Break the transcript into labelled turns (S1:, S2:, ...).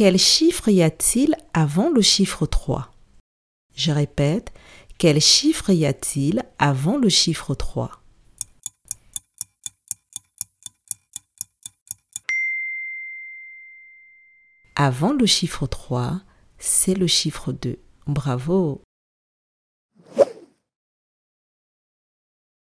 S1: Quel chiffre y a-t-il avant le chiffre 3? Je répète, quel chiffre y a-t-il avant le chiffre 3? Avant le chiffre 3, c'est le chiffre 2. Bravo!